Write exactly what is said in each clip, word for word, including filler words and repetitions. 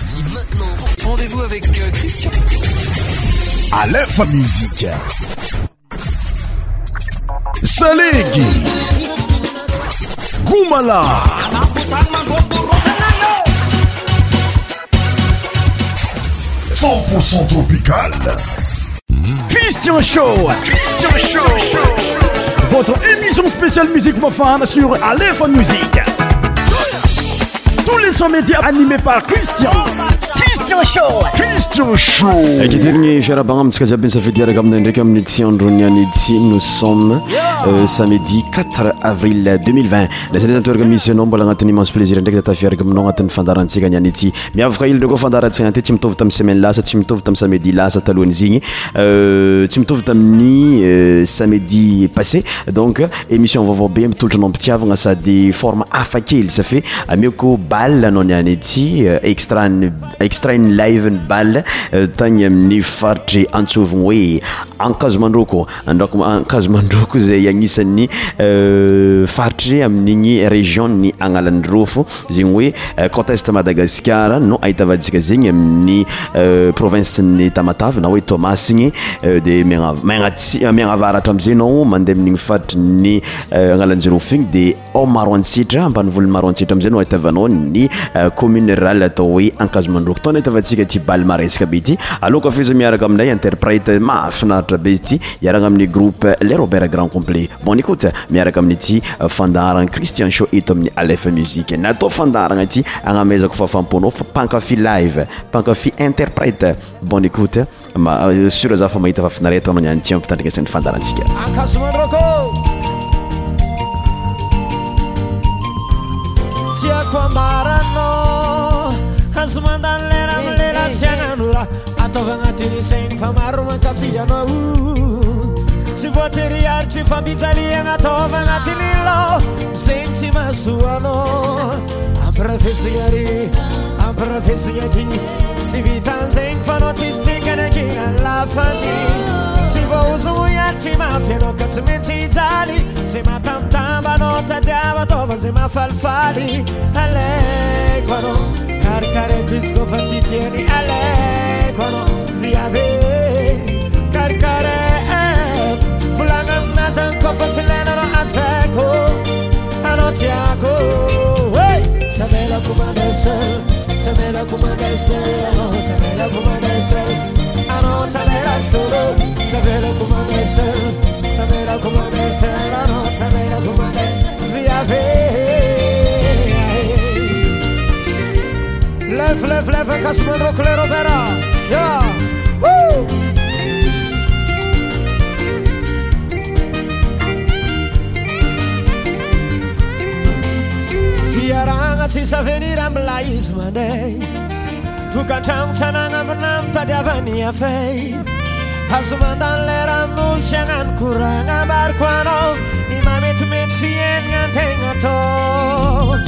parti maintenant. Rendez-vous avec euh, Christian. Aleph Musique. Salegi. Goumala. cent pour cent tropical. Christian Show. Christian Show. Votre émission spéciale musique profane sur Aleph Musique. Tous les sons médias animés par Christian. Christian Show. Christian Show. Ekitirni fiarabagna amitsika jiaby safidy araka aminay ndraiky amin'ny ty androniany ity. Nous sommes euh, samedi quatre avril deux mille vingt. Laisez les entours misy anao mbola agnatin'ny immense plaisir ndraiky tatafiaraka aminao agnatin'ny fandarantsika niany ity. Miavaka ilo ndraiky fandarantsika ty tsy mitovy tamin'ny semaine lasa, tsy mitovy tamin'ny samedi lasa talohan'izigny. Euh, tsy mitovy tamin'ny euh, samedi passé. Donc émission vaovao be mitolotry anao mpitiavagna sady forme hafa kely. Ça fait amiako bal anao niany ity extra extra ny live ny bal tagny amin'ny faritry antsovigny hoe Ankazomandroko. Andako Ankazomandroko zay agnisan'ny faritry amin'igny région ny Agnalandrofo zegny hoe côte est Madagascar no ahitavatsika zegny amin'ny province ny Tamatave na hoe Tomasigny de Miagnavaratra amizay nao mandeha amin'igny faritry ny Agnalanjirofo igny de ao Maroantsitra ambanivolo Maroantsitra amizay no ahitavanao ny commune rurale atao hoe Ankazomandroko. Tona ahitavatsika ty bal maresaka be ty. Aloko fiza miaraka aminay interprète mahafinaritra be ty iaraka amin'ny groupe Les Robert Grand Complet. Bon écoute, miaraka amin'ny ty fandaharana Christian Show eto amin'ny Aleph Musique. Natao fandaharana ty agnamezako fafamponao fa pankafy live, pankafy interprète. Bon écoute, ma sur za fa mahita fafinareta anao niany ty ampitandrikasan'ny fandaharantsika. Ankazomandroko. Tiako ambarano azomandany lera amilera tsy agnanora ataova agnatin'ny saigny fa maro mankafy anao tsy voatery aritry fambijaliagna ataova agnatin'ny lo zegny tsy mahasoa anao ampirafesigna ry ampirafesigna ty tsy vitan'zegny fa anao tsisy tikany ankina lafany tsy voaozogno iatry mafy anao ka tsy maintsy hijaly zay matambatamba anao tadiava ataova zay mahafalifaly alaiko anao karkareko izy kofa tsy tiany alaiko anao viave karkareko volagna aminazany kofa tsy lena anao antsaiko anao tiako hey! Samelako mandesel samelako mandesel anao samelako mandesel anao samelako solo samelako mandesel samelako mandesel anao samelako mandesel viave Lève, lève, lève, Ankazomandroko les Robert. Yeah. Woo. Fiaragna tsisy avenir amila izy manday tokantragno tsanagna amina mitadiavany afay azo mandany lera amin'olo tsy agnano koragna ambariko anao ny mametimety fiainagna antegna atao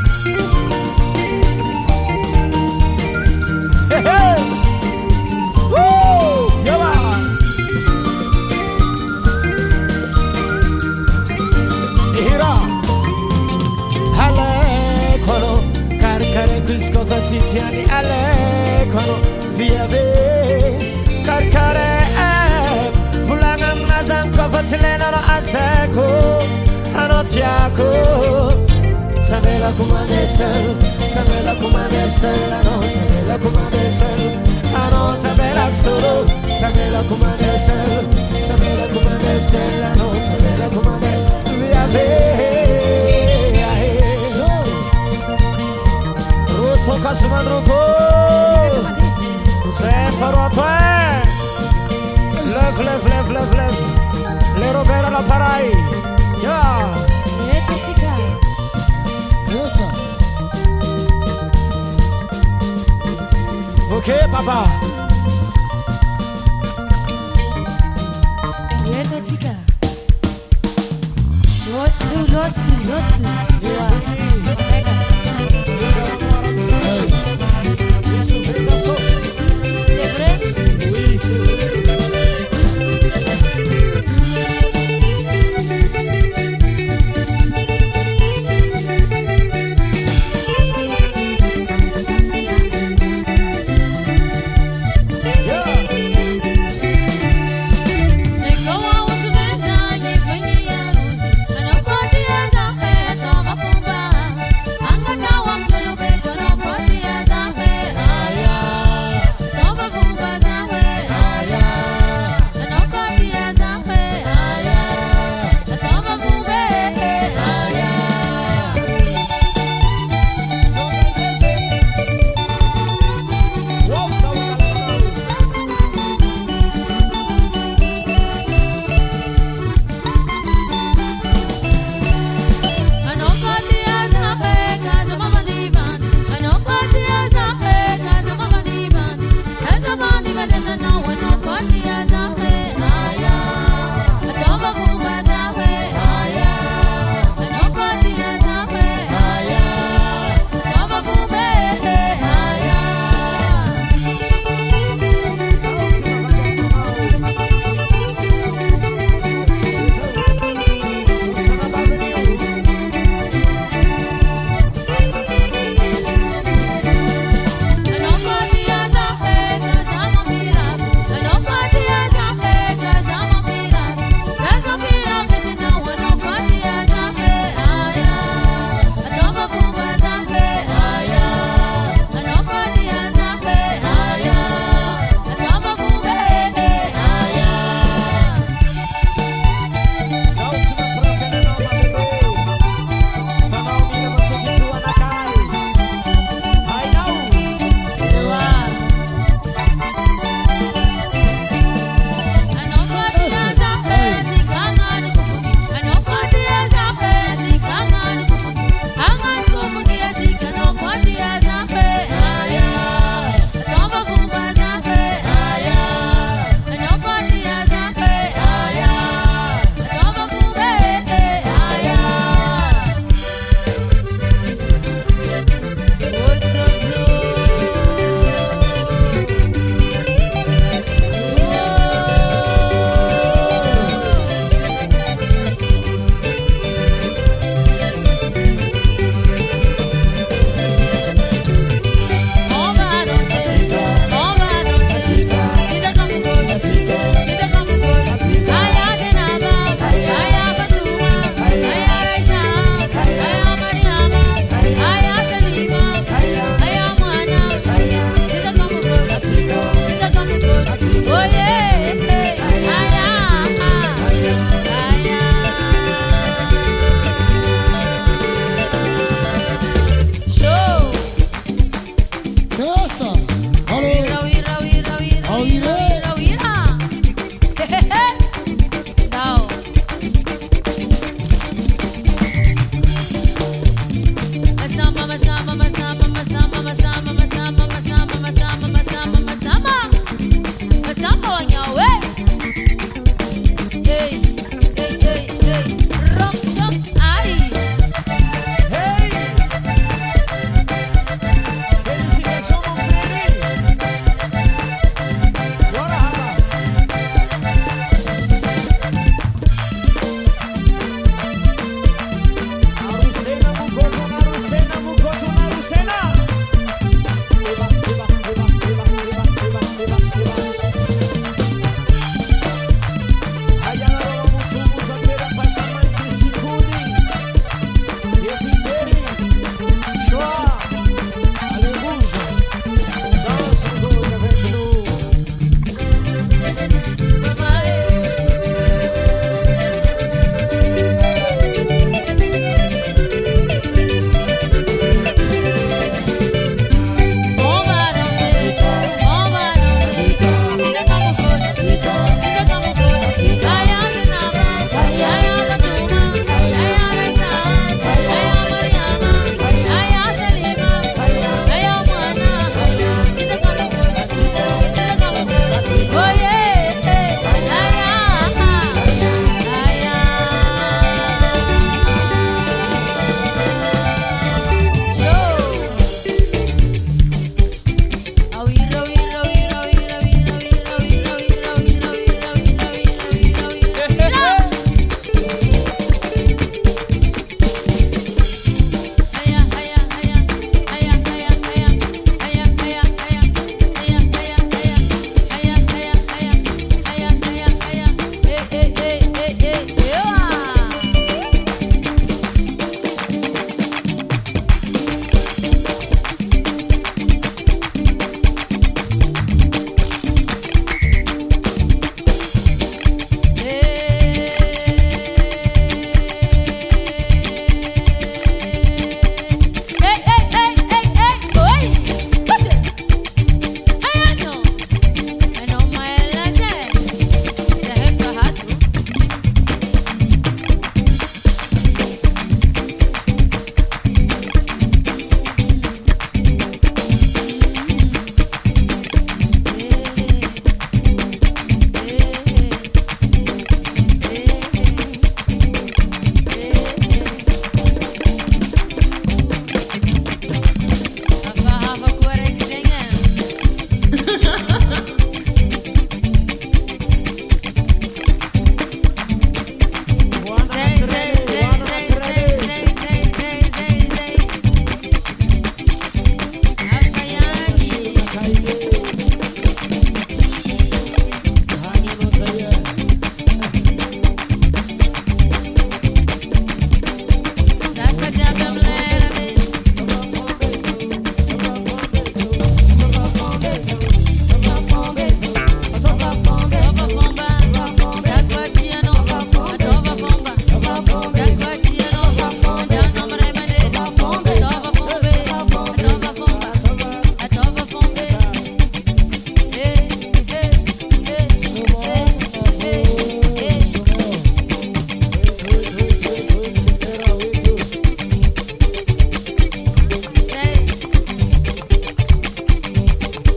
Hey, hey. Woo! Yawa! Ihira! Aleko anao karakareko izy kofa tsy tiany aleko anao viave karakareko volagna aminazany kofa tsy lena anao antsaiko anao tiako Samelako mandesel samelako mandesel anao samelako mandesel anao samelako solo samelako mandesel samelako mandesel anao samelako mandesel viave Rosso Ankazomandroko c'est faro toi lève lève lève lève lève les Robert à l'appareil yeah Ok, papa. Yeto tika. Losu, losu, losu. Yeah. Isso fez a Sophie. C'est vrai? Oui, c'est vrai.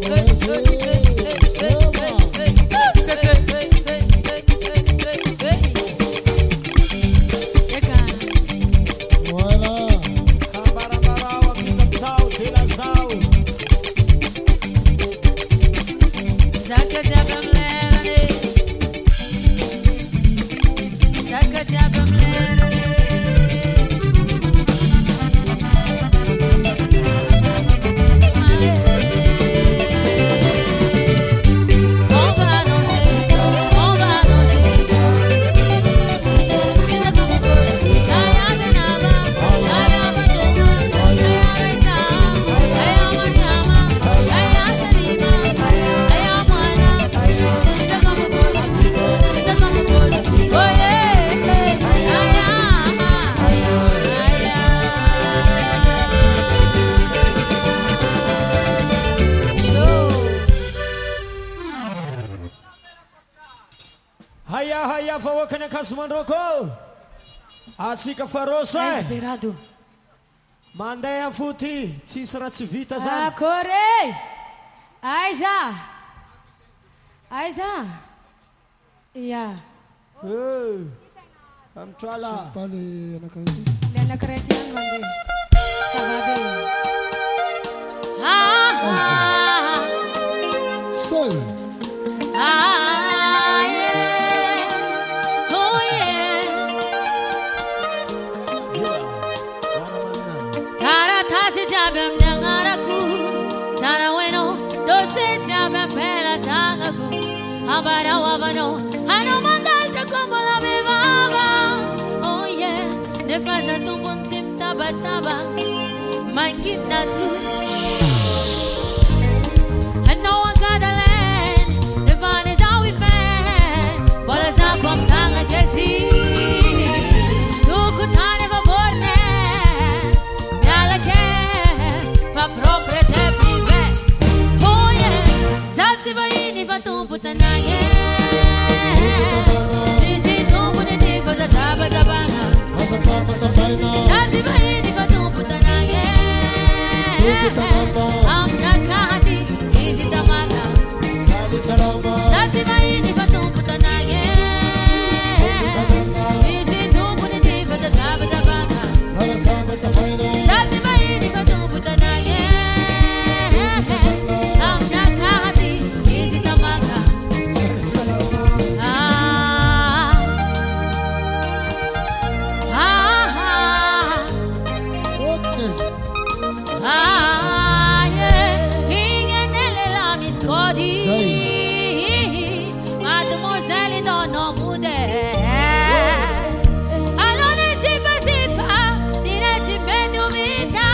Atsika faroso e Esperado. Mandeha foty tsisy raha tsy vita zany. Akory aiza aiza ia Amtrala le anakiraiky ihany mandeha savady ah ah Sol ah yeah oh yeah Tara tasi jabem nyangaraku Tara weno dose jabem pela tangaku Habara wavano Hano mangalta como la bebaba Oh yeah Ne pasa tu puntim taba taba Mangit nasu I know I got a land The fun is how we fan Bola sa kwam tanga kesi Tuku tane va borne Nyala ke Fa propre te prive Oh yeah Zatsi va ini va tumpu tanage Nisi tumpu ne ti fa za taba za banga Zatsi va ini va tumpu tanage Am nakati Isi tamaga Zatsi va ini va tumpu tanage Nisi tumpu ne ti fa za taba za banga Zatsi va ini va tumpu tanage Am nakati Isi tamaga Ah Ah Ah Ah yeah Ingenele la miscodi Mademoiselle non ho mude Allora si fa si fa Direi me dubita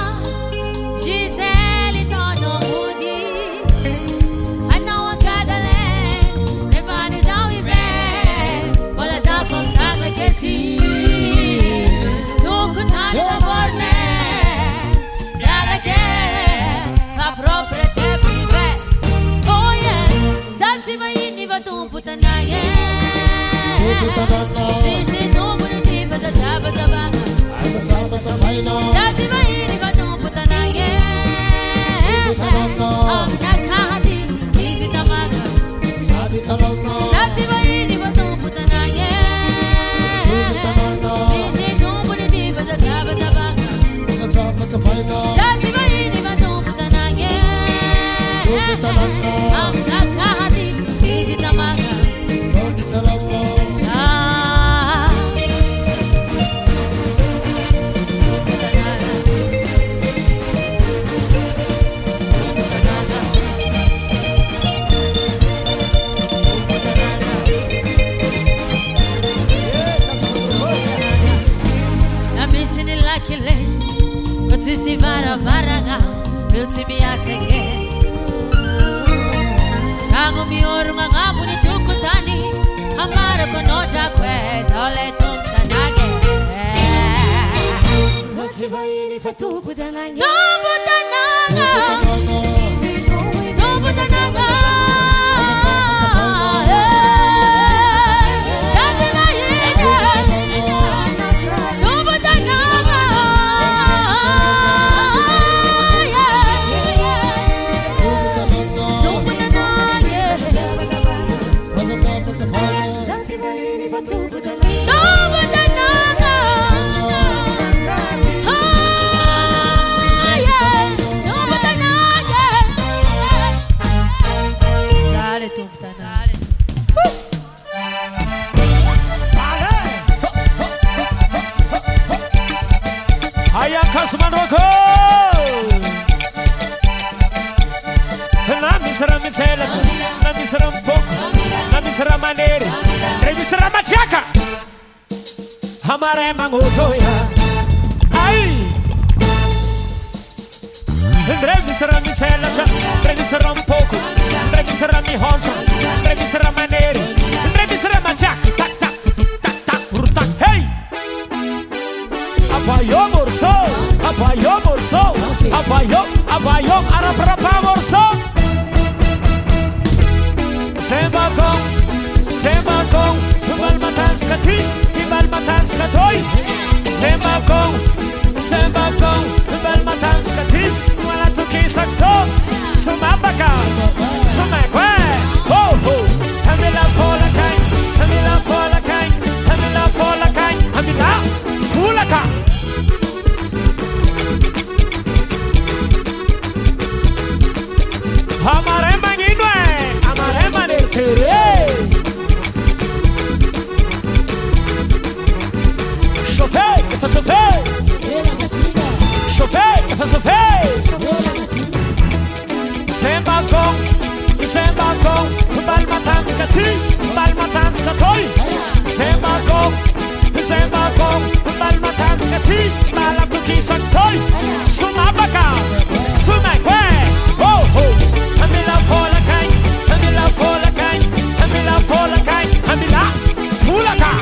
Gisele non ho mudi I know I got a land Ne fare già i re Vola già con caga che sì Tu con tante da forne Dalla che Fa proprio te prive Oh yeah Zanzi va inni va tu putanaye Dici tu pune ti fa za zaba zabanga Zanzi va inni va tu putanaye Am nakati Dici tamaga Zanzi va inni va tu putanaye Dici tu pune ti fa za zaba zabanga Zanzi va inni va tu putanaye Am nakati Dici tamaga Ah Amisini lakile Kutisi vara varaga Ultimi aseke Chango mioro ngabu ni tukutani Hamara konoja kwe Zole tumtanage Zatsi va ini fa Tupu tanage Tupu tanaga Tupu tanaga Zatsi va ini Tupu tanaga misy raha mitselatra, na misy raha mipoko, na misy raha manery, ndre misy raha matriaka. Amaray magnotro ya, ay. Ndre misy raha mitselatra, ndre misy raha mipoko, ndre misy raha mihonso, ndre misy raha manery, ndre misy raha matriaka. Tak tak tak tak rutak. Hey. Abayo morso, abayo morso, abayo, abayo, araprapa morso. Semba kong, semba kong, tubal matans kati, tibal matans katoy. Semba kong, semba kong, tubal matans kati, wala tukisak to. Sumabaka, sumakwe, ho ho. Hamila fola kain, hamila fola kain, hamila fola kain, hamila fola kain. Amare manginwe, amare manekere. Chauffeur, il faut sauver. Chauffeur, il faut sauver. Semba kong, semba kong, bal matans kati, bal matans katoy. Semba kong, semba kong, bal matans kati, bal kukisak toy. Sumabaka, sumakwe, oh oh. Hamila fola kain, hamila fola kain, hamila fola kain, hamila fola kain.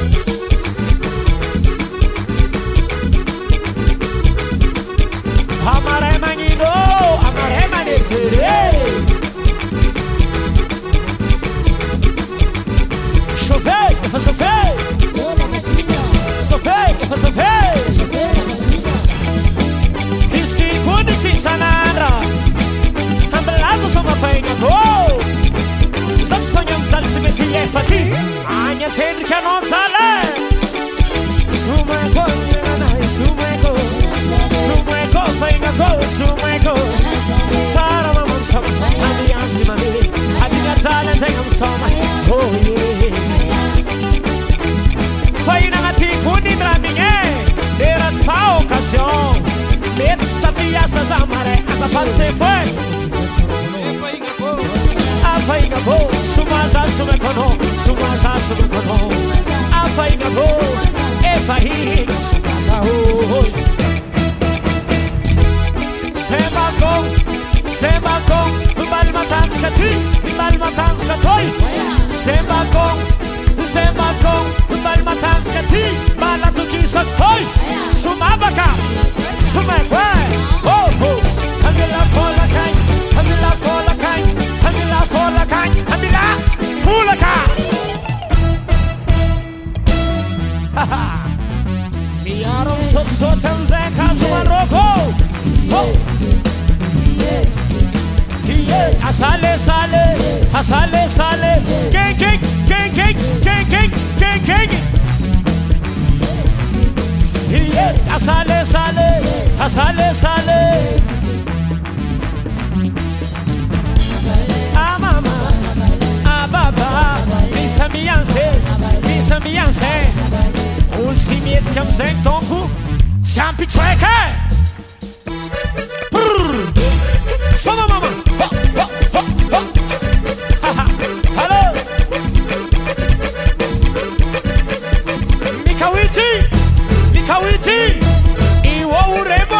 Amare mangido, amare manekere. Chauffeur, il faut sauver. Sauver, il faut sauver. Isti kuniksi sanandra. Ambelazo soma fainga go. Sats fanyam salsi me kiye fati. Anya tend kanon sale. Suma go, na suma go. Suma go fainga go, suma go. Sara mamam sama, ami ansi mami. Adinya sale tengam sama. Oh yeah. Faina ngati kuni draminge. Derat pa occasion. Mesta fiasa zamare, asa false foi. Afaiga bo, sumaza sume kono, sumaza sume kono. Afaiga bo, efahi, sumaza ho. Semba kong, semba kong, bal matans kati, bal matans katoy. Semba kong, semba kong, bal matans kati, bal atukisak toy. Sumabaka, sumekwe, oh oh. Hamila fola kain, hamila fola kain, hamila fola kain, hamila fola kain. Miyarom sot sotem zeka sumaroko. Oh, yeah, asale sale, asale sale, king king king king king king king king. Yeah, asale sale, asale sale. Ah mama, ah baba, misa mianse, misa mianse. Ultimiet skam sen tonku, champi treke. Sama mama, ha ha ha ha. Hello, Mikawiti, Mikawiti, iwo ureba.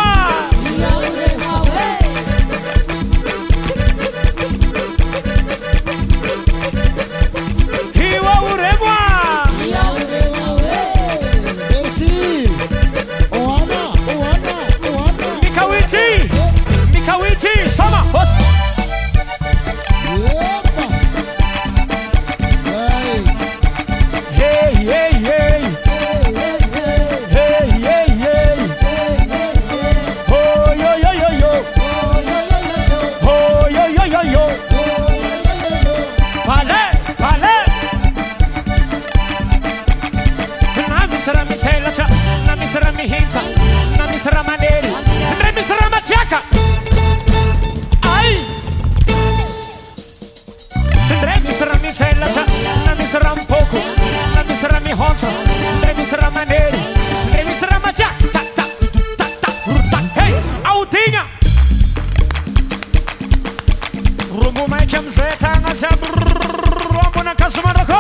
Mambo maika mzee tanga cha brrrr na kasumarako.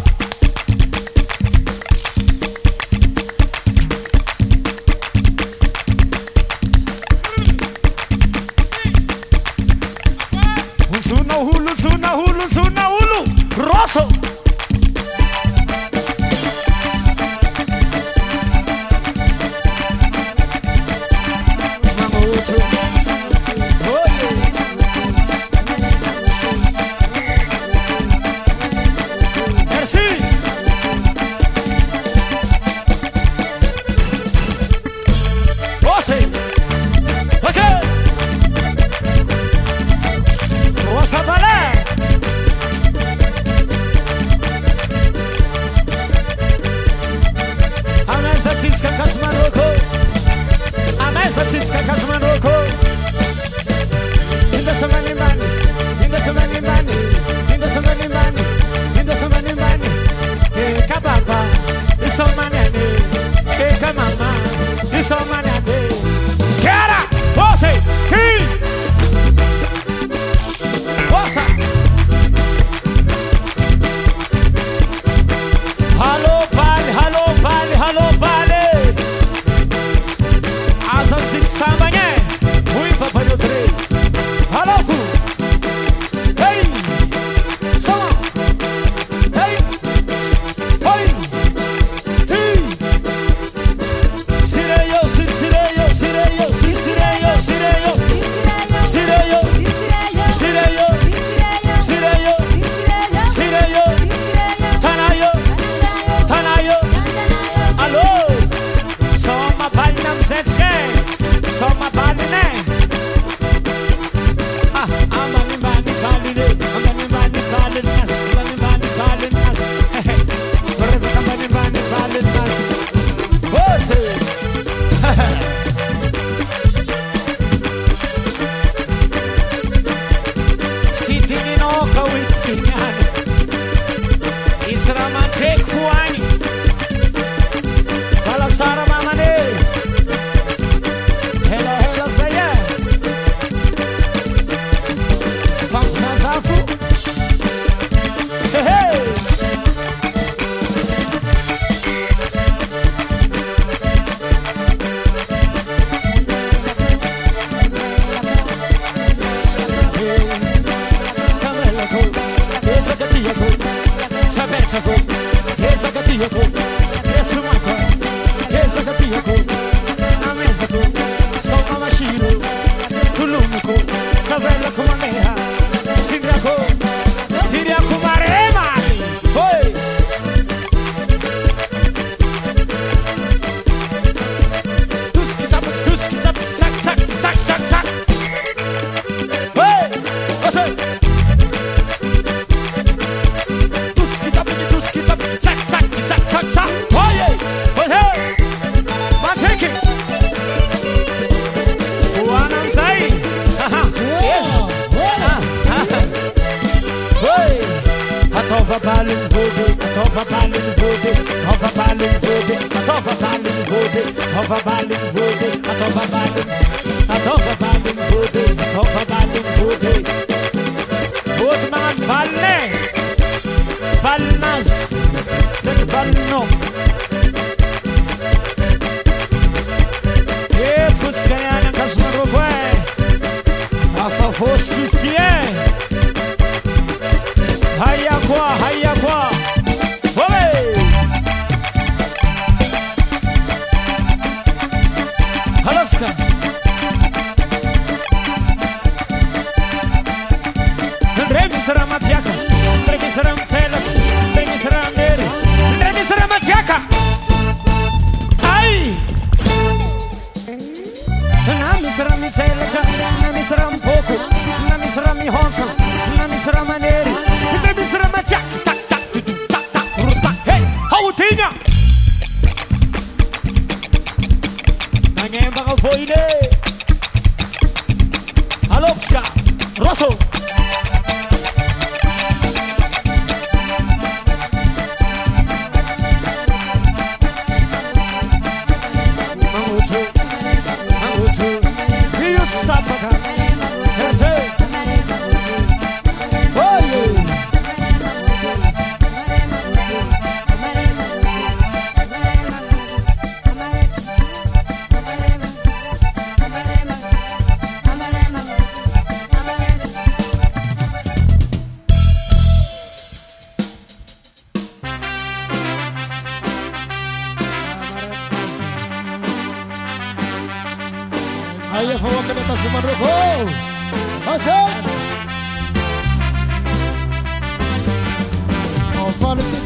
Unsuna hulu, suna hulu, suna hulu. Rosso.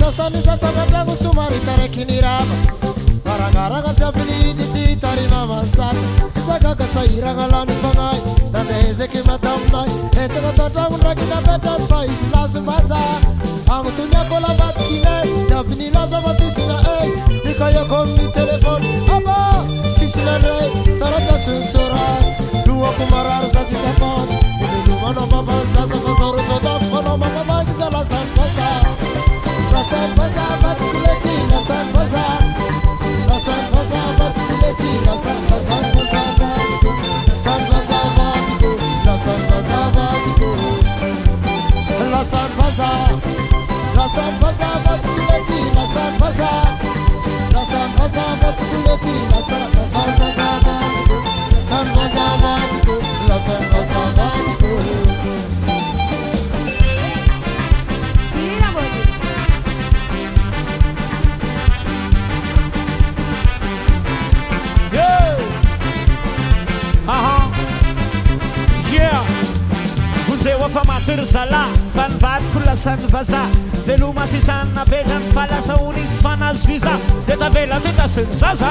Sanisatavatangu sumari tarekinirama Varangaraga tabili ti tarina vansas Zagaga sairanga lani fangai Nande ezeki matamnai Etega tatangu rakina betan faiz lasu baza Angu tunya kola batkine Tabini laza vasisina ey Ika yoko mi telefon Aba Sisina rey Tarata sunsurai Lua kumarar zazi tapon Ibi luma no baba zaza vazoru zoda Fono mama magiza la san vaza La san vaza batkuleti La san vaza La san vaza batkuleti La san vaza vaza batku La san vaza batku La san vaza batku La san vaza La san vaza batkuleti La san vaza La san vaza batkuleti La san vaza vaza batku San vaza batku La san vaza batku Fa mater zala vanvatiko lasany vaza veloma sisana vedrany falasa onisy fanazy viza de tavela tetasiny zaza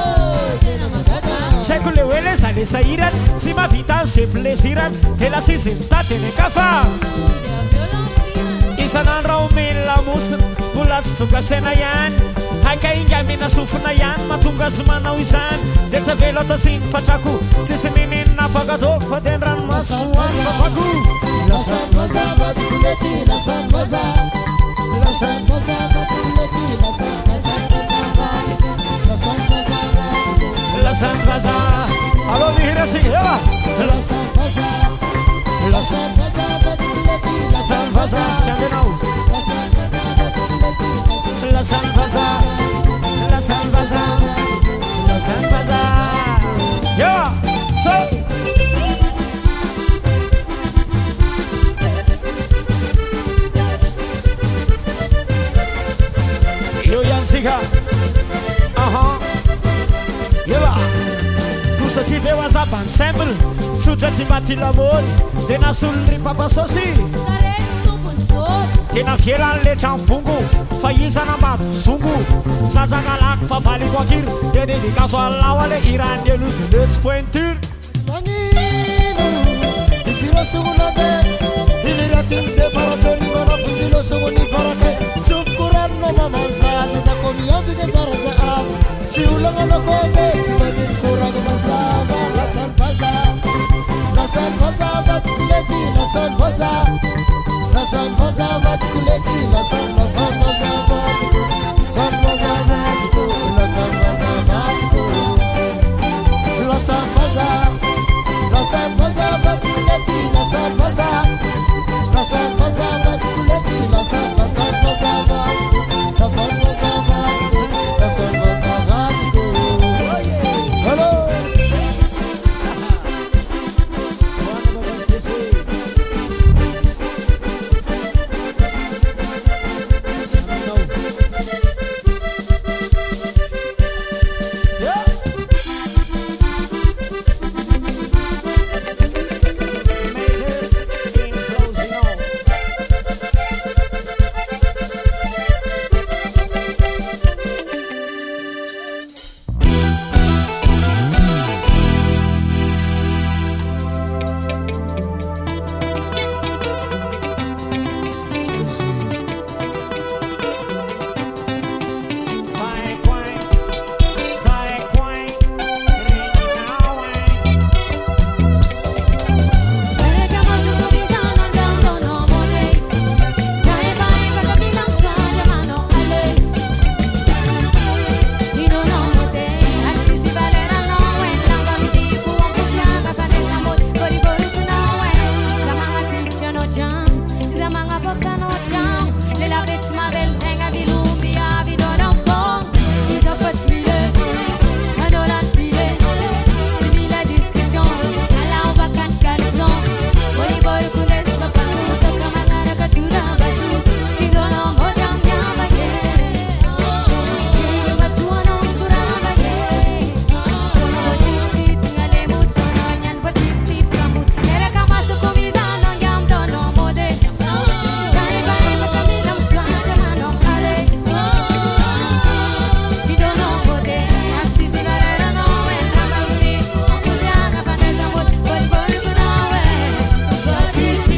tsy haiko le hoe le za le sahirany tsy mavita azy ze plesirany de lasiziny tateny kafa isanandro omeny lamosiny mbola tsy tonga saina ihany haika inga mina sofina ihany mahatonga azy manao izany de tavelo atasiny fatrako tsisy ninina fagatoko fa de ndranomasiko anfafako La san vaza batkuleti La san vaza La san vaza batkuleti La san vaza vaza La san vaza La san vaza Allo mihira si ela La san vaza La san vaza batkuleti La san vaza siamo now La san vaza batkuleti La san vaza La san vaza La san vaza Yeah So Sika Aha Yeba Kusa ti veo azabany simple Sotra tsy maty lamody De nasolo ry papasosy Tena fielan le trambongo Fa izana maty zongo Sazana lako fa valiko akiry De dedikazo alao ale irany eludy Let's pointure Manino Isiro suguna be Iliratim de parasoni Manafu silo suguni parake Sufkuranno mamanza Sasa komi yobi ke zara za ab Si ulanga no kobe Si badin kurang mazaba La san vaza La san vaza batkuleti La san vaza La san vaza batkuleti La san vaza vaza batku San vaza batku La san vaza batku La san vaza La san vaza batkuleti La san vaza La san vaza batkuleti La san vaza vaza batku La san vaza batku La san vaza batku Hello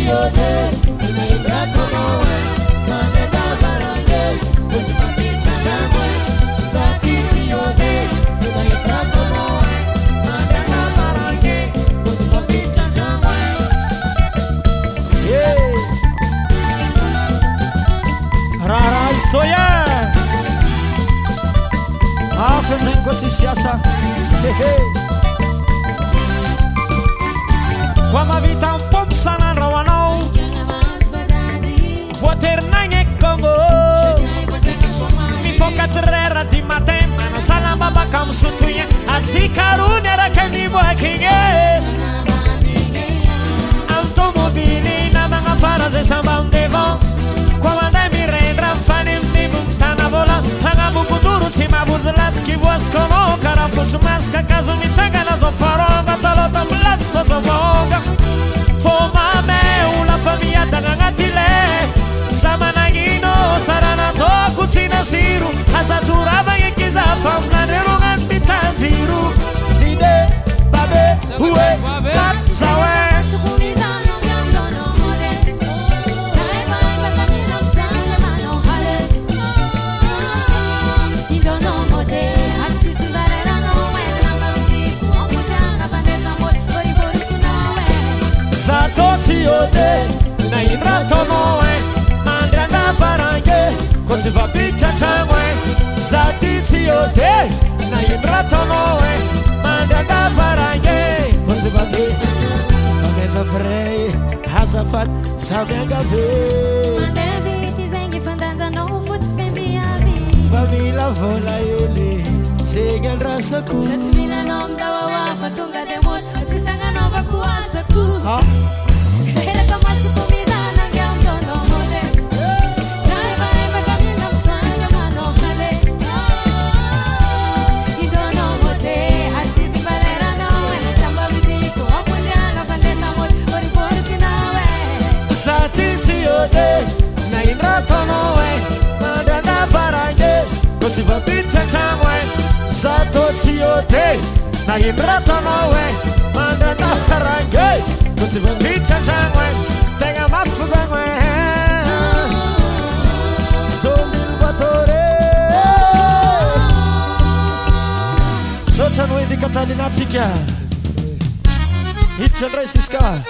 Qua ma vita un po' sana rawanao Vuoternange Congo Mi foca terra di matem Ana sala baba kam sutuya Atsi karuni rakani boakinge Automobili na mga farase sambang devon Qua manda mi rendra fanim di muntana vola Hanga bubuduru cima buzlaski voascono Carafusu masca caso mi tsanga zo faronga Talota blasco zo vonga Foma me una famiglia dangangatile Samanagino sarana to cucina siru Asaturava ye kiza famna nerungan pitanziru Dide babe uwe tatsawe Satotsi ode na inrato noe Mandrana parange Kozi va piccia chamwe Satitsi ode na inrato noe Mandrana parange Kozi va piccia Ameza frei Hazafat Sabianga ve Mandeviti zengi fandanza no futs fembiavi Famila vola ele Segan rasaku Katsmila nom dawa wa fatunga de mut Katsisanga nova kuasaku Ha? Kaya kamasi kumida ng yam dono mode Kaya ba'y magkamilang sana mano hale I dono mode At sisi balera nawe Tamba biti ko ako dyan Kapandesa mo Pori pori kinawe Satitsi ode na inrato noe Mandana parange Kozi va piccia chamwe Satotsi ode na inrato noe Mandana parange Kozi va piccia chamwe Tenga mafugangwe Sono il vatore Sono di Catalina Zicchia Hitchen Resiska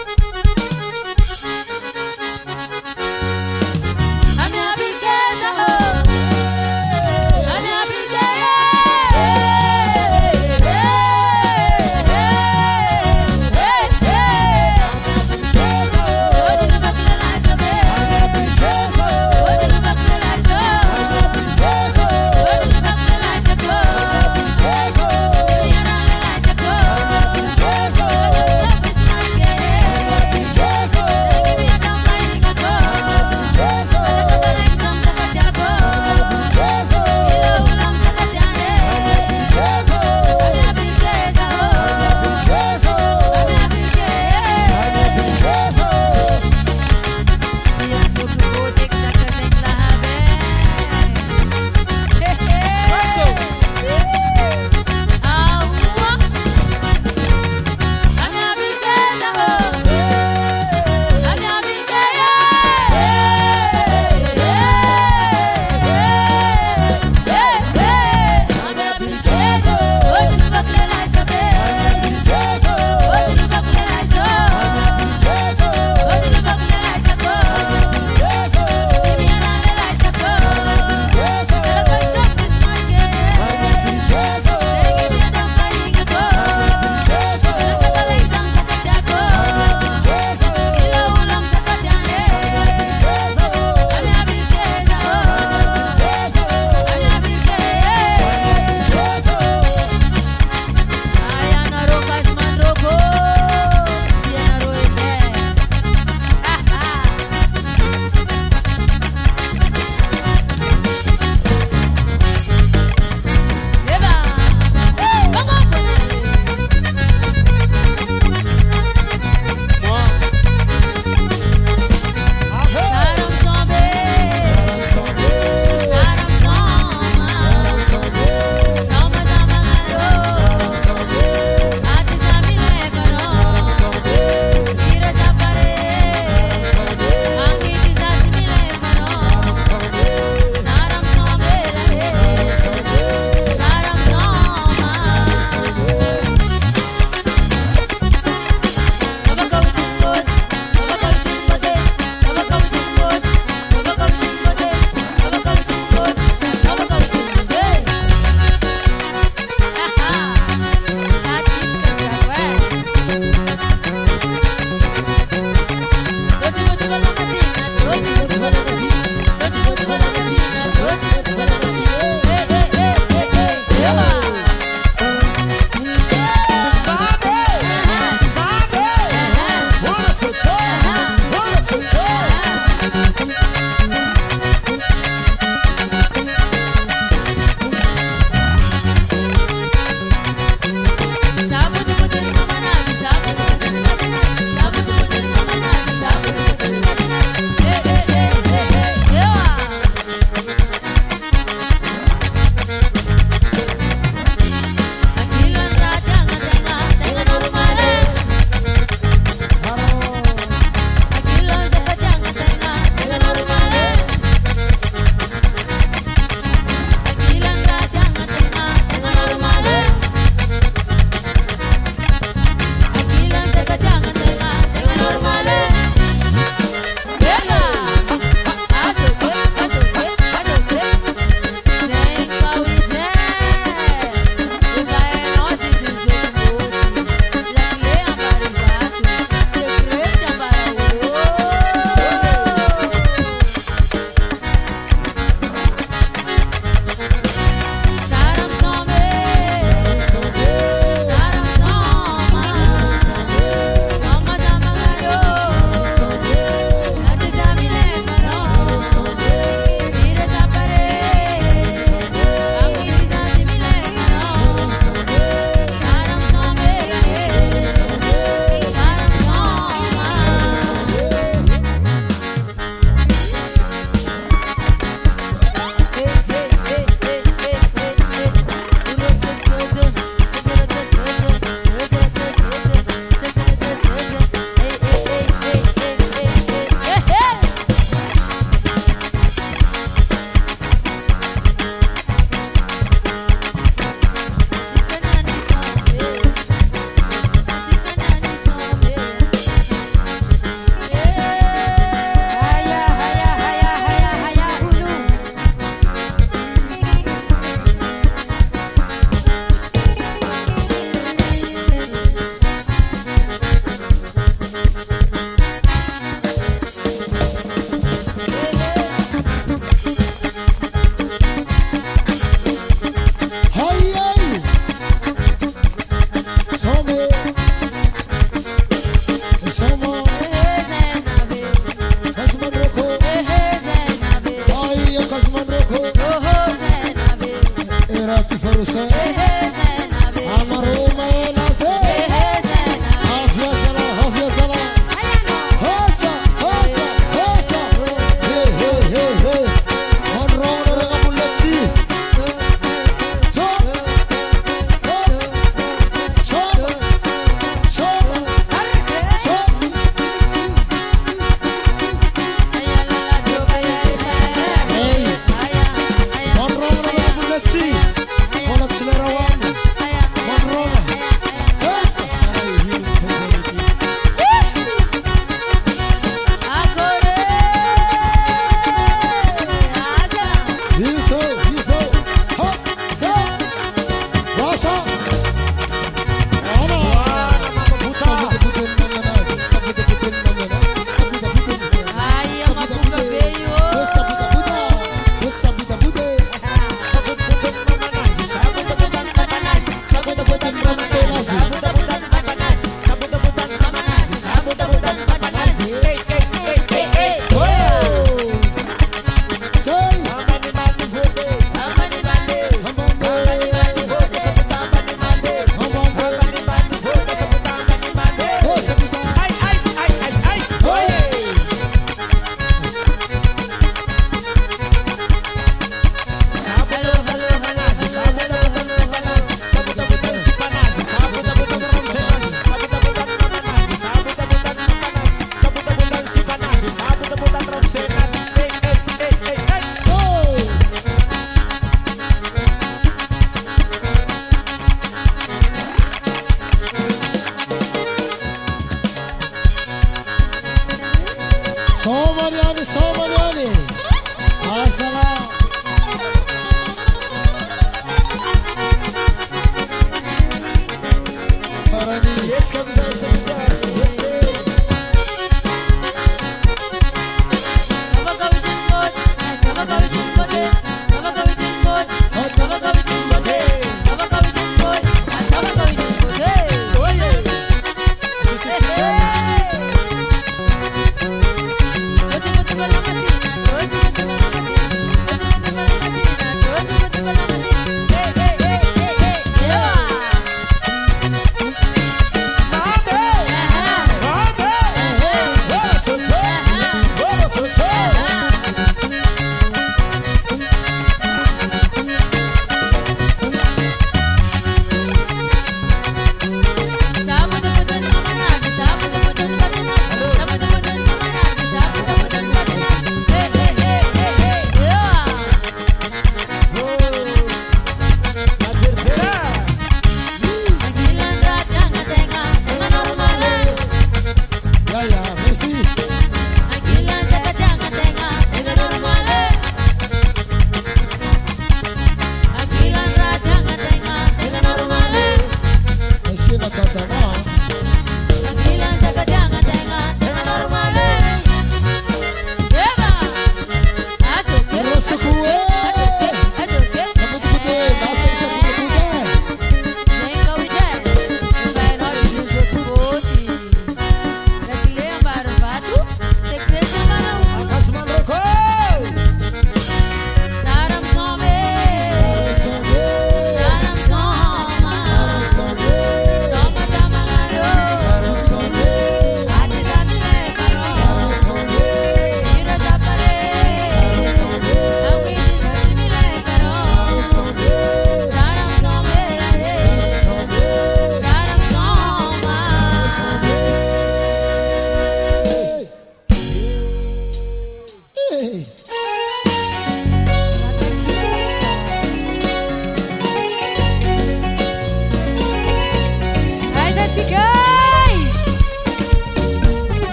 Hey, hey, hey, hey, hey.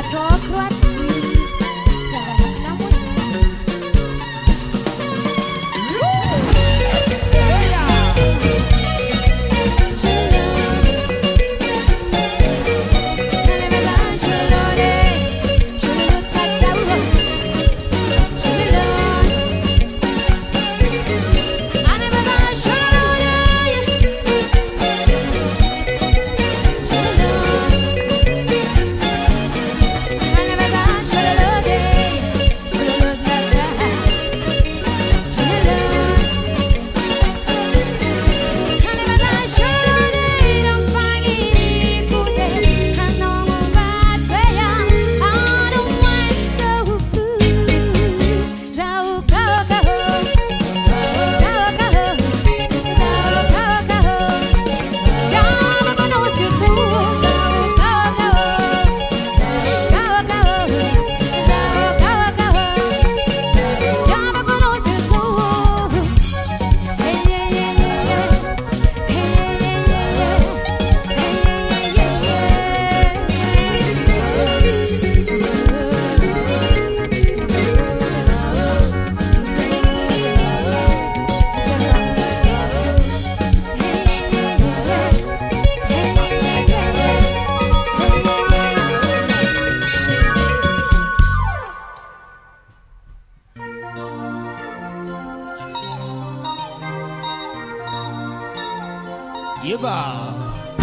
Yeba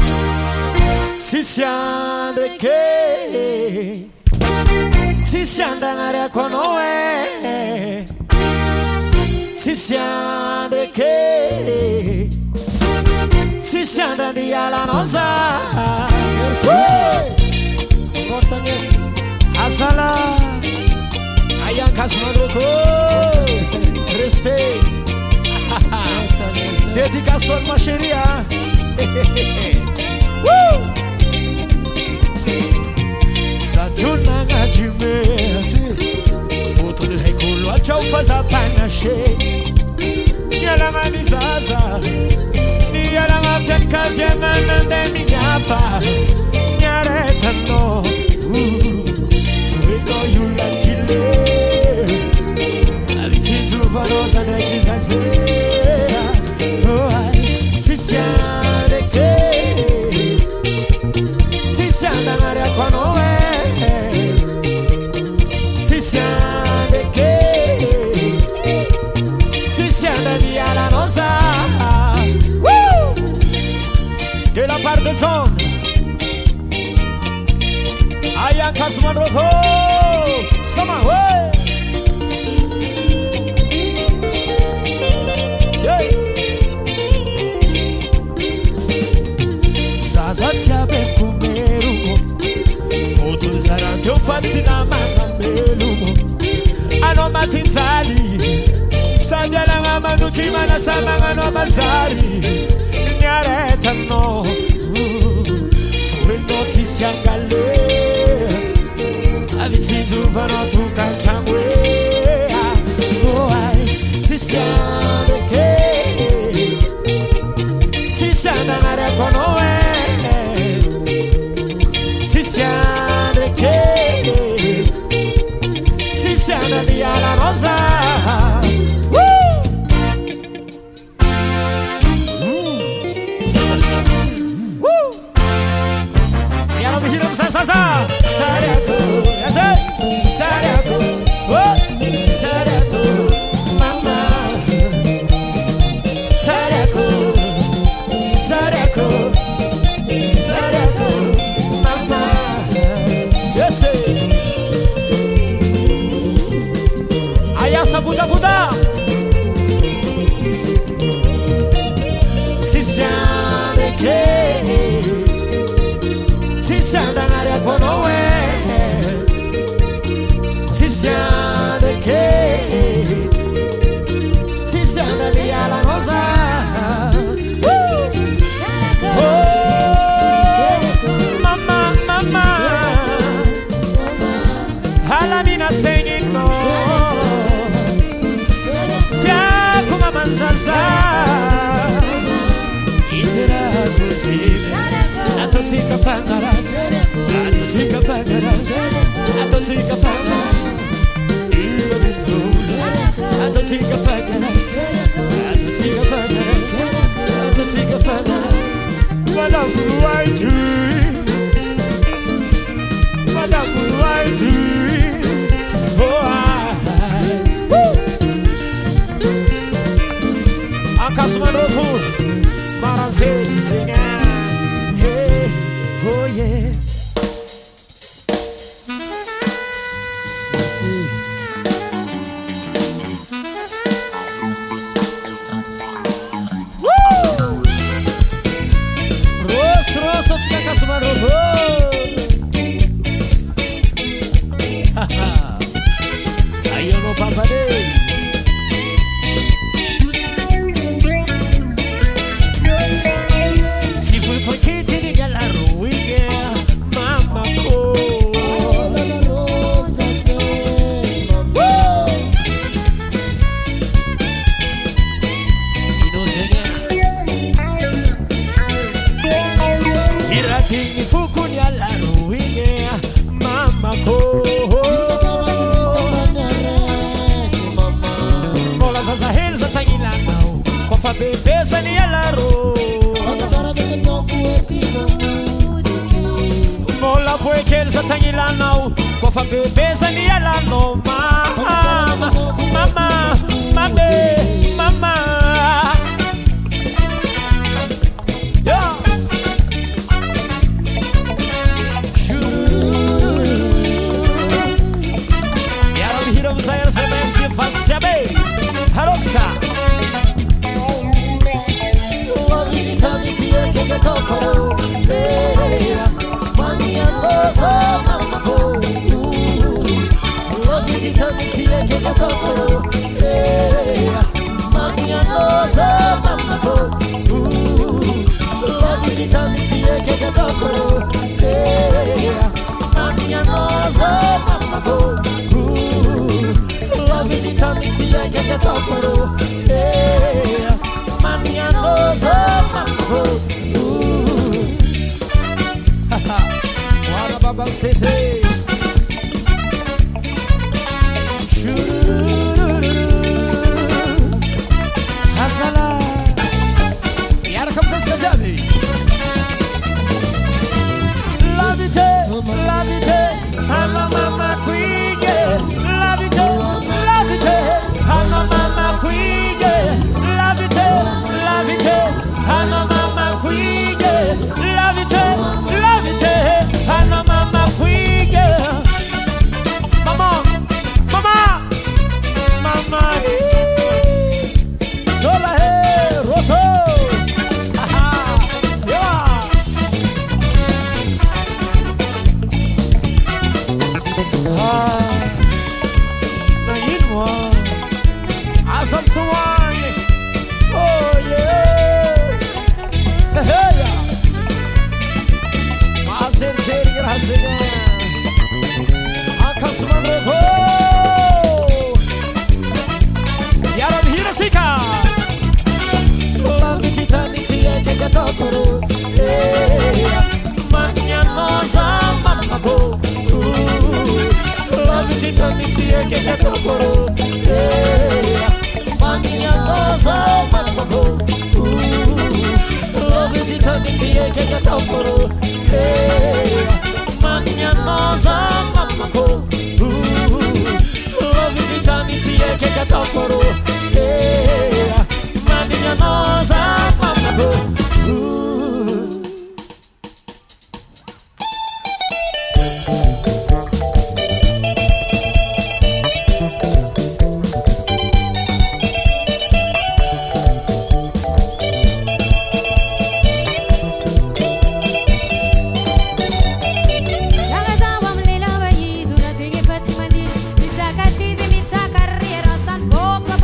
Sisiandre ke Sisiandangare konoe Sisiandre ke Sisiandandi ala noza Portanesi Asala Ayan kasmadoko Respect Dedicação de macheria. Woo! Satunanga jime Foto de reculo a tchau faz a panache Nyalanga nizaza Nyalanga fianca fianga nande minhafa Nyareta no Suedo yula kile Avititu valosa de kizaze Sisiande che Sisiande andare qua noi Sisiande che Sisiande via la nosa De la parte de zone Ayan Kasman Roko Sama way Zaza per comer Foto sarà che ho fatto da mamma Ano matinzali Sanya langa manuki mana samanga no mazari Nyareta no Suendo si siangale Aviti tu vano tu canciamwe Oh ai Si siande che Si siande nare con noi Sisiandre che Sisiandre via la rosa Woo! Mm. Woo! Piano di hiro sa sa sa Sariaco, yase Sariaco, oh Sariaco, mama Sariaco, Sariaco Sariaco Ayasa Buddha Buddha Si siande che Si siande andare con noi Si siande che Si siande via la cosa Alamina singing no Tia kuma manzanza Itira tuzi Ato sika fangara Ato sika fangara Mitsaka tizy mitsaka rera sany bôka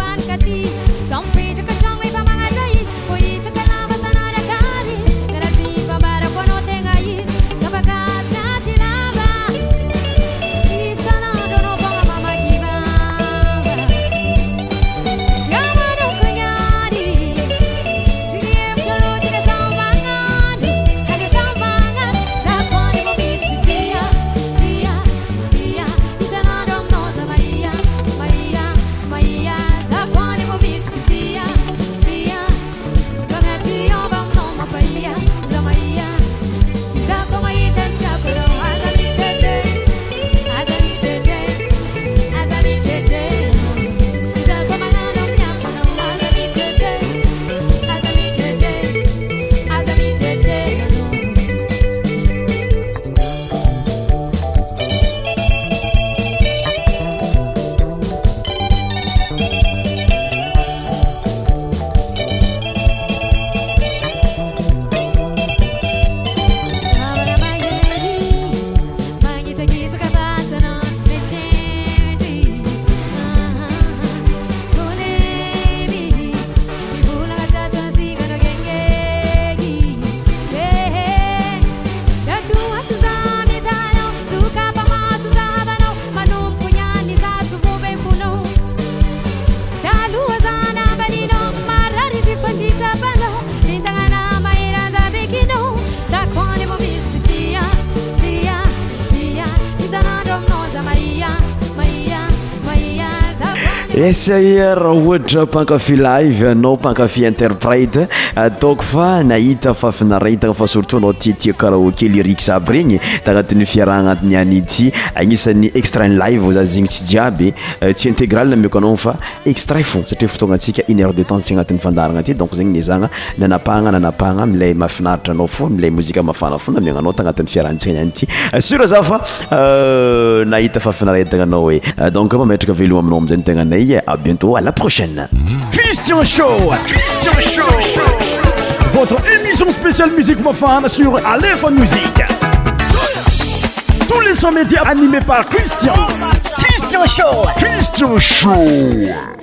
esa raha ohatra mpankafy live anao mpankafy interprète ataoko fa nahita fa finaretaka fa surtout anao tiatia karaoke lyrique aby regny tagnatin'ny fiarahana antiny any ity agnisan'ny extrait live za zegny tsy jiaby tsy intégral nameko anao fa extrait fo satria fotoagna antsika une heure de temps tsy agnatin'ny fandaragna aty donc zegny nizagna nanapahagna nanapahagna amilay mahafinaritra anao fo amilay mozika mafana fo namiagnanao tagnatin'ny fiarahantsika any ity sur za fa nahita fa finaretaka anao hoe donc mametraka veloma aminao amizay tegna nay à bientôt à la prochaine. Christian Show, Christian Show, votre émission spéciale musique mofane sur Aléphone Musique. Tous les sons médias animés par Christian. Christian Show, Christian Show.